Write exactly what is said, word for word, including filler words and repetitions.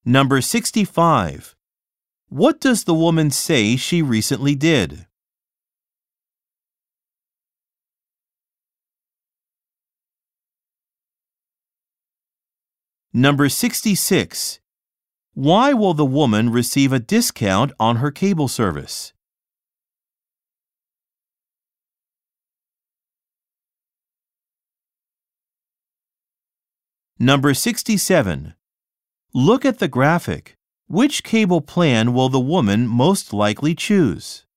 Number sixty-five. What does the woman say she recently did? Number sixty-six. Why will the woman receive a discount on her cable service? Number sixty-seven. Look at the graphic. Which cable plan will the woman most likely choose?